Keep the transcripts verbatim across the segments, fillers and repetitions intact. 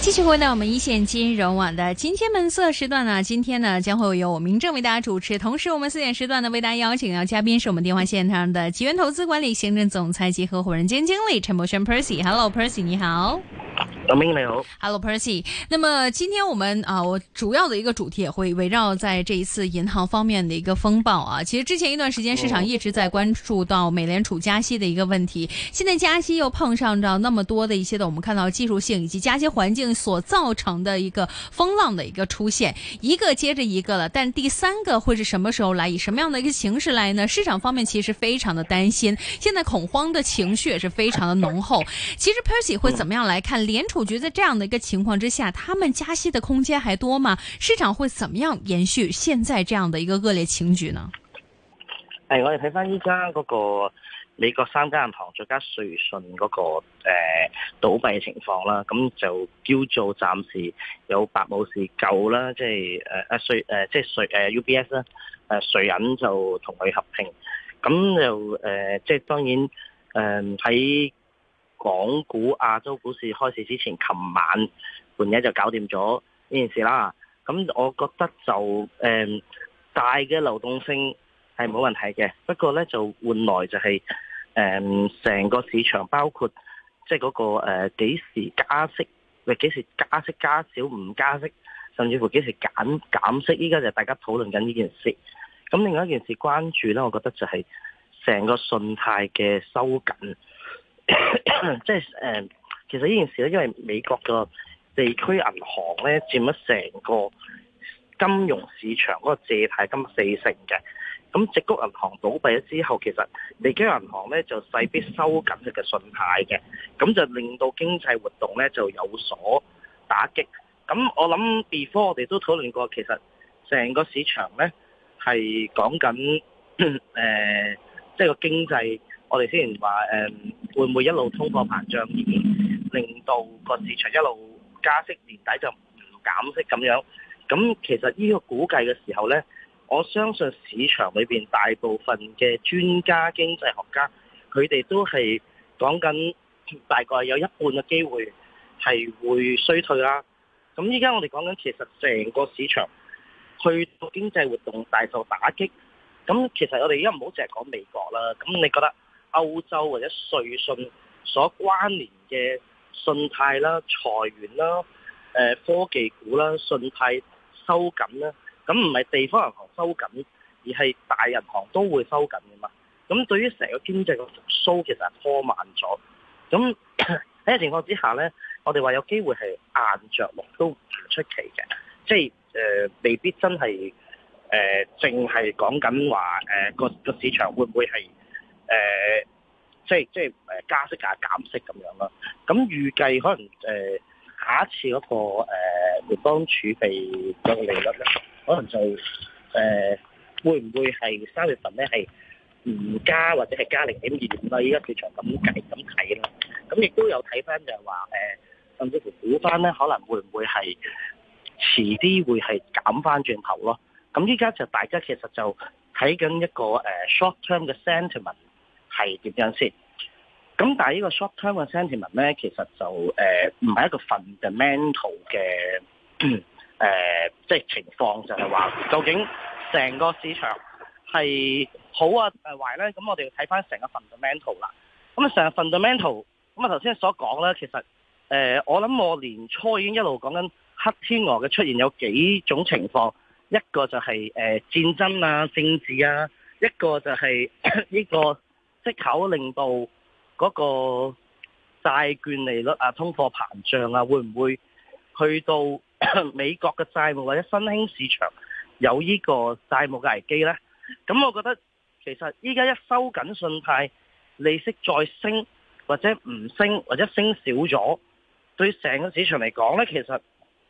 继续回到我们一线金融网的今天本色时段呢，今天呢将会由我明正为大家主持，同时我们四点时段呢为大家邀请到嘉宾是我们电话线上的吉源投资管理行政总裁及合伙人兼经理陈柏轩 Percy。Hello Percy， 你好。 老明你好 ，Hello Percy。那么今天我们啊，我主要的一个主题也会围绕在这一次银行方面的一个风暴啊。其实之前一段时间市场一直在关注到美联储加息的一个问题，现在加息又碰上着那么多的一些的我们看到技术性以及加息环境所造成的一个风浪的一个出现，一个接着一个了。但第三个会是什么时候来，以什么样的一个形式来呢？市场方面其实非常的担心，现在恐慌的情绪也是非常的浓厚。其实 Percy 会怎么样来看联储局在这样的一个情况之下，他們加息的空間還多嗎？市場會怎麼樣延續現在這樣的一個惡劣情局呢？ 係我哋睇翻依家嗰個美國三間銀行再加瑞信嗰、那個誒、呃、倒閉嘅情況啦，咁就叫做暫時有白武士救啦，即係誒誒瑞誒即係瑞誒 U B S 啦，誒瑞銀就同佢合併，咁就誒、呃、即係當然誒喺。呃港股亞洲股市開市之前，琴晚半夜就搞掂咗呢件事啦。咁我覺得就誒、嗯、大嘅流動性係冇問題嘅，不過咧就換來就係誒成個市場包括即係嗰個誒幾、呃、時加息，或幾時加息加少唔加息，甚至乎幾時減減息，依家就大家討論緊呢件事。咁另外一件事關注咧，我覺得就係成個信貸嘅收緊。即係誒，其實呢件事咧，因為美國個地區銀行咧佔咗成個金融市場嗰個借貸金四成嘅，咁矽谷銀行倒閉咗之後，其實地區銀行咧就勢必收緊佢嘅信貸嘅，咁就令到經濟活動咧就有所打擊。咁我諗 before 我哋都討論過，其實成個市場咧係講緊誒，即係個經濟。我哋之前話誒會唔會一路通貨膨脹，已經令到個市場一路加息，年底就唔減息咁樣。咁其實呢個估計嘅時候呢，我相信市場裏邊大部分嘅專家、經濟學家，佢哋都係講緊大概有一半嘅機會係會衰退啦。咁依家我哋講緊其實成個市場去到經濟活動大受打擊。咁其實我哋而家唔好淨係講美國啦。咁你覺得歐洲或者瑞信所關聯嘅信貸啦、裁員啦、誒科技股啦、信貸收緊啦，咁唔係地方銀行收緊，而係大銀行都會收緊嘅嘛。咁對於成個經濟嘅復甦，其實係拖慢咗。咁喺個情況之下呢，我哋話有機會係硬着陸都唔出奇嘅，即係誒未必真係誒淨係講緊話誒個個市場會唔會係？誒、呃，即係即係誒加息啊減息咁樣啦。咁預計可能誒、呃、下一次嗰、那個誒聯邦儲備嘅利率咧，可能就誒、呃、會唔會係三月份咧係唔加或者係加零點二五啦？依家市場咁計咁睇啦。咁亦都有睇翻就係話誒，甚至乎估翻咧，可能會唔會係遲啲會係減翻轉頭咯？咁依家就大家其實就睇緊一個誒、呃、short term 嘅 sentiment。係點樣先？咁但係呢個 short term 嘅 sentiment 咧，其實就誒唔係一個 fundamental 嘅誒、呃，即係情況，就係、是、話究竟成個市場係好啊誒壞咧？咁我哋要睇翻成個 fundamental 啦。咁啊成個 fundamental，咁啊頭先所講咧，其實誒、呃、我諗我年初已經一路講緊黑天鵝嘅出現有幾種情況，一個就係、是、誒、呃、戰爭啊、政治啊，一個就係呢、這個。息口令到嗰個債券利率啊、通貨膨脹啊，會唔會去到美國嘅債務或者新興市場有呢個債務嘅危機呢？咁我覺得其實依家一收緊信貸，利息再升或者唔升或者升少咗，對成個市場嚟講呢，其實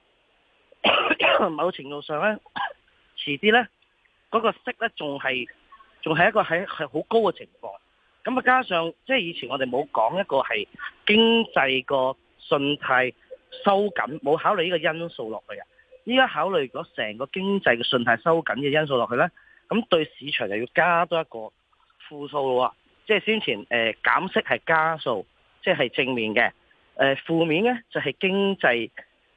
某程度上呢，遲啲呢嗰、嗰個息呢，仲係仲係一個係係好高嘅情況。咁啊，加上即係以前我哋冇講一個係經濟個信貸收緊，冇考慮呢個因素落去啊。依家考慮咗成個經濟嘅信貸收緊嘅因素落去呢，咁對市場就要加多一個負數咯。即係先前誒、呃、減息係加數，即係正面嘅。誒、呃、負面呢就係、是、經濟嗰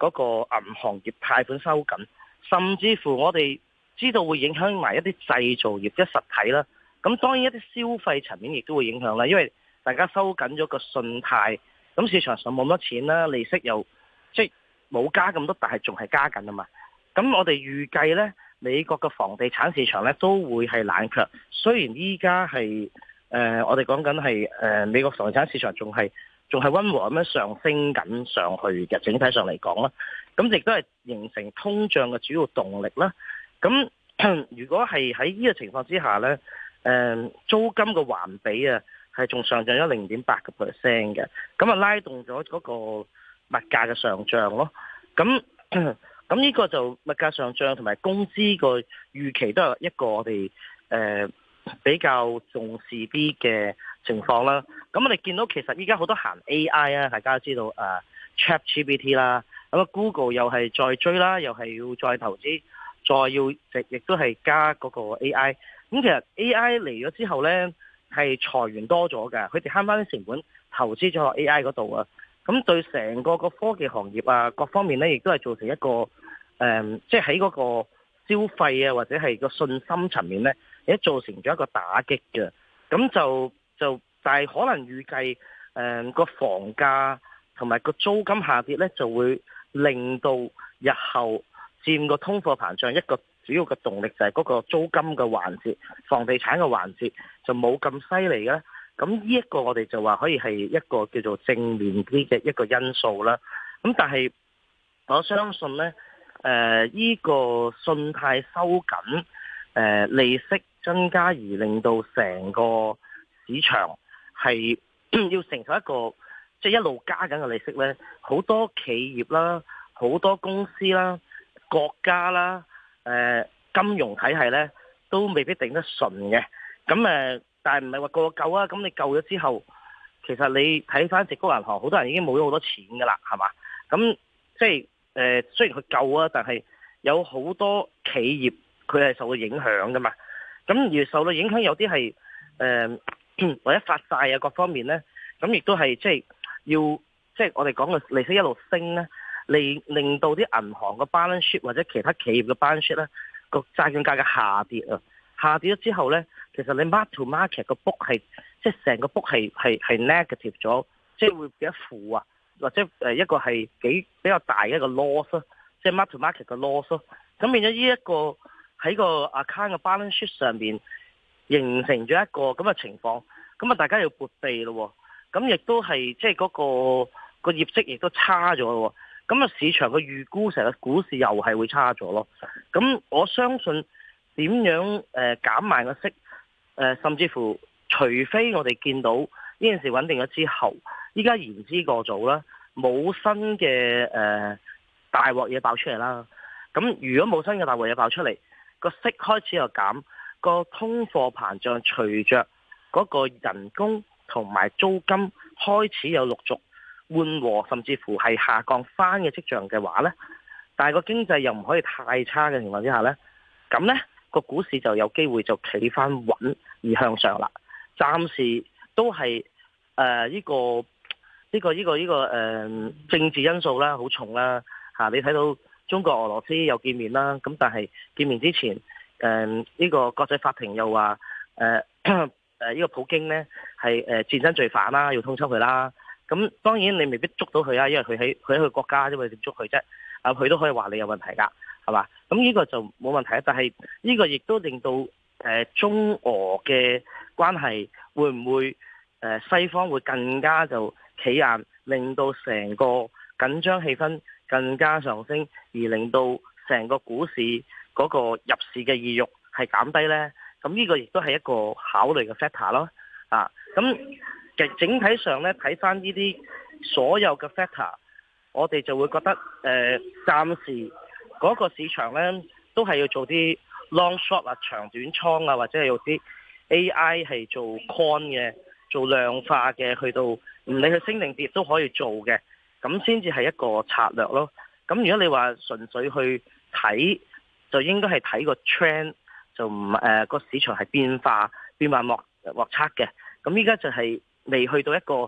嗰個銀行業貸款收緊，甚至乎我哋知道會影響埋一啲製造業即係實體啦。咁當然一啲消費層面亦都會影響啦，因為大家收緊咗個信貸，咁市場上冇乜錢啦，利息又即係冇加咁多，但係仲係加緊啊嘛。咁我哋預計呢，美國嘅房地產市場呢都會係冷卻。雖然依家係誒我哋講緊係誒美國房地產市場仲係仲係溫和咁樣上升緊上去嘅，整體上嚟講啦，咁亦都係形成通脹嘅主要動力啦。咁如果係喺呢個情況之下呢，誒租金嘅環比啊係仲上漲咗零點八個 percent 嘅，咁啊拉動咗嗰個物價嘅上漲咯。咁咁呢個就物價上漲同埋工資個預期都係一個我哋誒、呃、比較重視啲嘅情況啦。咁我哋見到其實依家好多行 A I 啊，大家都知道誒、呃、ChatGPT 啦，咁啊 Google 又係再追啦，又係要再投資，再要亦亦都係加嗰個 A I。咁其實 A I 嚟咗之後呢，係裁員多咗嘅，佢哋慳翻啲成本投資咗落 A I 嗰度啊。咁對成個個科技行業啊，各方面咧，亦都係造成一個誒、嗯，即係喺嗰個消費啊，或者係個信心層面咧，亦都造成咗一個打擊嘅。咁就就，但係可能預計誒個房價同埋個租金下跌咧，就會令到日後佔個通貨膨脹一個主要嘅動力就係嗰個租金嘅環節、房地產嘅環節就冇咁犀利嘅。咁呢一個我哋就話可以係一個叫做正面啲嘅一個因素啦。咁但係我相信呢，誒、呃、呢、這個信貸收緊，誒、呃、利息增加而令到成個市場係要承受一個即係、就是、一路加緊嘅利息呢，好多企業啦、好多公司啦、國家啦、誒、呃、金融體系呢，都未必頂得順嘅。咁誒。呃但係唔係話個個救啊？咁你救咗之後，其實你睇翻矽谷銀行，好多人已經冇咗好多錢噶啦，係嘛？咁即係誒、呃，雖然佢救啊，但係有好多企業佢係受到影響噶嘛。咁而受到影響有啲係誒或者發債啊各方面咧，咁亦都係即係要即係我哋講嘅利息一路升咧，令令到啲銀行嘅 balance sheet 或者其他企業嘅 balance sheet 咧個債券價格下跌啊，下跌咗之後咧。其實你 mark to market 個 book 係即係成個 book 係係係 negative 咗，即係會幾多負啊，或者誒一個係幾比較大嘅一個 loss 咯，即係 mark to market 嘅 loss 咯。咁變咗呢一個喺個 account 嘅 balance sheet 上邊形成咗一個咁嘅情況，咁啊大家要撥備咯，咁亦都係即係嗰個個業績亦都差咗咯，咁啊市場嘅預估成個股市又係會差咗咯。咁我相信點樣誒減慢個息？誒、呃，甚至乎，除非我哋見到呢件事穩定咗之後，依家言之過早啦，冇新嘅誒、呃、大鑊嘢爆出嚟啦。咁如果冇新嘅大鑊嘢爆出嚟，個息開始又減，個通貨膨脹隨着嗰個人工同埋租金開始有陸續緩和，甚至乎係下降翻嘅跡象嘅話呢，但係個經濟又唔可以太差嘅情況之下呢，咁呢。個股市就有機會就企翻穩而向上啦。暫時都係誒呢個呢、呢個呢、呢個呢、呢個誒、呃、政治因素啦，好重啦嚇、啊。你睇到中國俄羅斯又見面啦，咁但係見面之前誒呢、呃呢個國際法庭又話誒誒呢個普京呢係誒戰爭罪犯啦，要通緝佢啦。咁當然你未必捉到佢啊，因為佢喺佢喺佢國家啫嘛，點捉佢啫？啊，佢都可以話你有問題㗎。係嘛？咁呢個就冇問題，但係呢個亦都令到誒、呃、中俄嘅關係會唔會誒、呃、西方會更加就企硬，令到成個緊張氣氛更加上升，而令到成個股市嗰個入市嘅意欲係減低呢？咁呢個亦都係一個考慮嘅 factor 咯。啊，咁其實整體上呢，睇翻呢啲所有嘅 factor，我哋就會覺得誒、呃、暫時。嗰個市場呢，都係要做啲 long short 啊、長短倉啊，或者係用啲 A I 係做 con 嘅、做量化嘅，去到唔理佢升定跌都可以做嘅，咁先至係一個策略咯。咁如果你話純粹去睇，就應該係睇個 trend，就唔誒個市場係變化變幻莫莫測嘅。咁依家就係未去到一個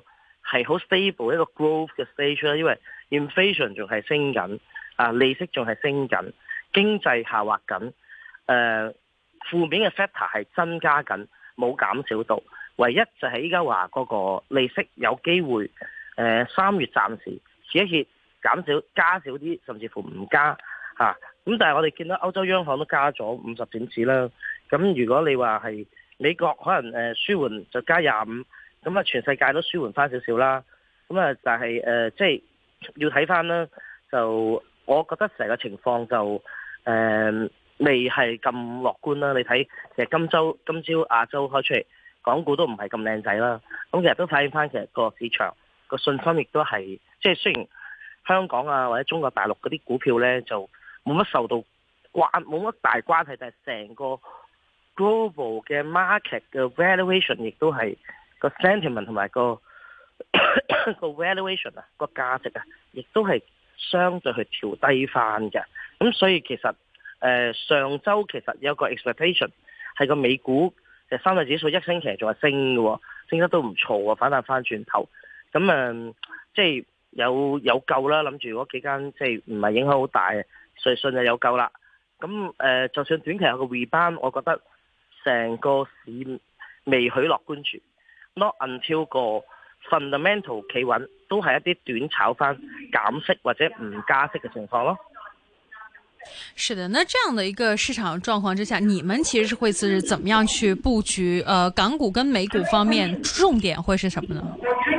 係好 stable 一個 growth 嘅 stage 啦，因為 inflation 仲係升緊，啊利息仲係升緊，經濟下滑緊，誒、呃、負面嘅 factor 係增加緊，冇減少到。唯一就係依家話嗰個利息有機會，誒、呃、三月暫時歇一歇，減少加少啲，甚至乎唔加嚇。咁、啊、但係我哋見到歐洲央行都加咗五十點子啦。咁如果你話係美國可能誒舒緩就加廿五。咁啊，全世界都舒緩翻少少啦。咁啊，但係誒，即係要睇翻啦。就我覺得成個情況就誒、呃、未係咁樂觀啦。你睇其實今週今朝亞洲開出嚟，港股都唔係咁靚仔啦。咁其實都反映翻其實個市場個信心亦都係，即係雖然香港啊或者中國大陸嗰啲股票咧就冇乜受到關冇乜大關係，但係成個 global 嘅 market 嘅 valuation 亦都係。個 sentiment 同埋個個 valuation 啊，個價值啊，亦都係相對去調低翻嘅。咁所以其實誒、呃、上週其實有個 expectation 係個美股嘅三大指數一星期仲係升嘅，升得都唔錯喎，反彈翻轉頭。咁誒、呃、即係有有救啦，諗住嗰幾間即係唔係影響好大，瑞信就有救啦。咁誒、呃、就算短期有個 rebound，我覺得成個市未許樂觀住。Not until 個 fundamental 企穩，都係一啲短炒翻減息或者唔加息嘅情況咯。 是的，那這樣的一個市場狀況之下，你們其實是會是怎麼樣去佈局？呃，港股跟美股方面重點會是什麼呢？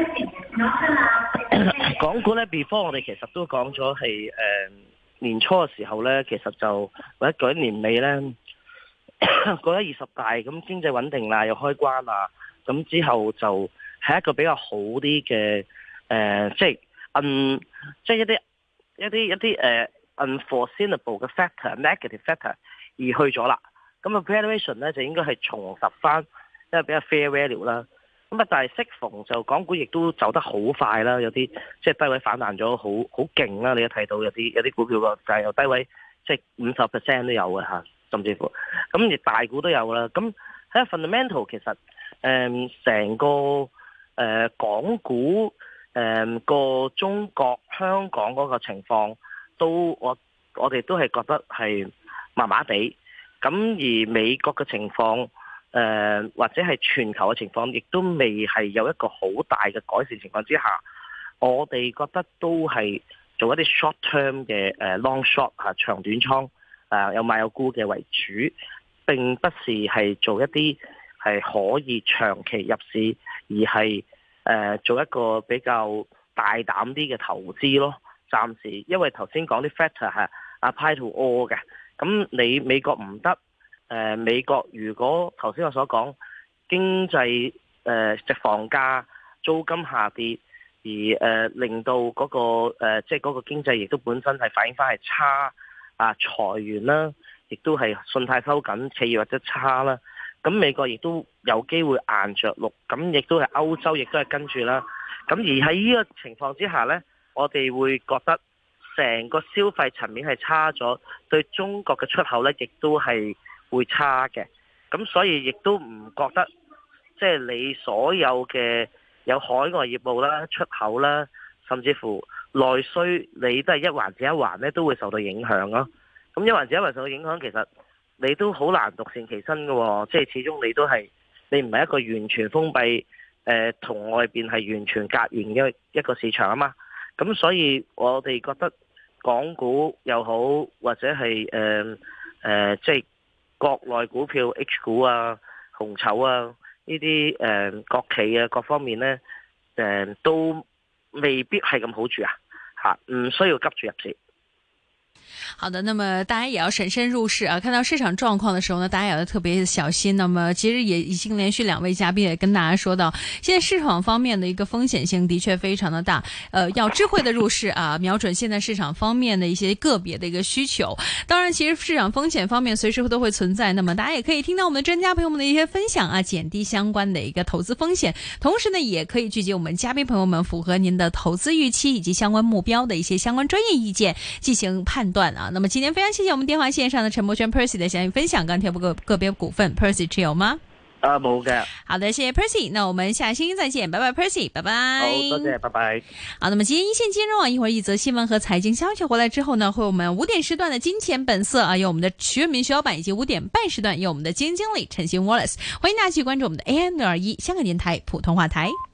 港股咧 before 我哋其實都講咗係誒年初嘅時候咧，其實就或者嗰一年尾咧，過咗二十大咁經濟穩定啦，又開關啦。咁之後就係一個比較好啲嘅誒，即係嗯，即係一啲一啲一啲誒、呃、unforeseeable 嘅 factor、negative factor 而去咗啦。咁啊 valuation 咧就應該係重拾翻一個比較 fair value 啦。咁啊，但係適逢就港股亦都走得好快啦，有啲即係低位反彈咗好好勁啦。你都睇到有啲有啲股票個就係由低位即係五十 percent 都有嘅嚇，甚至乎咁而大股都有啦。咁喺 fundamental 其實。誒，成、嗯、個誒、呃、港股誒個、呃、中國香港嗰個情況，都我我哋都係覺得係麻麻地。咁而美國嘅情況，誒、呃、或者係全球嘅情況，亦都未係有一個好大嘅改善情況之下，我哋覺得都係做一啲 short term 嘅誒 long short 啊長短倉，誒、呃、有買有沽嘅為主，並不是係做一啲。係可以長期入市，而係誒、呃、做一個比較大膽啲嘅投資咯。暫時因為頭先講啲 factor 係 apply to all 嘅，咁你美國唔得，誒、呃、美國如果頭先我所講經濟誒即房價租金下跌，而誒、呃、令到嗰、那個誒即係嗰個經濟亦都本身係反映翻係差啊裁員啦，亦都係信貸收緊，企業或者差啦。咁美國亦都有機會硬着陸，咁亦都係歐洲亦都係跟住啦。咁而喺呢個情況之下呢，我哋會覺得成個消費層面係差咗，對中國嘅出口呢亦都係會差嘅。咁所以亦都唔覺得，即係你所有嘅有海外業務啦、出口啦，甚至乎內需，你都係一環接一環呢，都會受到影響咯。咁一環接一環受到影響，其實你都好難獨善其身嘅，即係始終你都係你唔係一個完全封閉，誒同外邊係完全隔完嘅一個市場啊嘛。咁所以我哋覺得港股又好，或者係誒誒即係國內股票 H 股啊、紅籌啊呢啲誒國企啊各方面呢，誒、呃、都未必係咁好住啊，吓唔需要急住入市。 好的，那麼大家也要審慎入市啊！看到市場狀況的時候呢，大家也要特別小心。那麼其實也已經連續兩位嘉賓也跟大家說到，現在市場方面的一個風險性的確非常的大，呃，要智慧的入市啊，瞄準現在市場方面的一些個別的一個需求。當然，其實市場風險方面隨時都會存在，那麼大家也可以聽到我們的專家朋友們的一些分享啊，減低相關的一個投資風險。同時呢，也可以聚集我們嘉賓朋友們符合您的投資預期以及相關目標的一些相關專業意見進行判斷啊。那麼今天非常謝謝我們電話線上的陳柏軒 Percy 的詳細分享。鋼鐵股個個別股份 Percy 持有嗎？ 啊，冇嘅。 好的，謝謝 Percy， 那我們下星期再見，拜拜 Percy， 拜拜。 好，多謝，拜拜。 好，那麼今天一線金融啊，一會兒一則新聞和財經消息回來之後呢，會有我們五點時段的金錢本色啊，有我們的徐潤民徐老闆，以及五點半時段有我們的基金經理陳昕 Wallace， 歡迎大家去關注我們的 A M 六二一香港電台普通話台。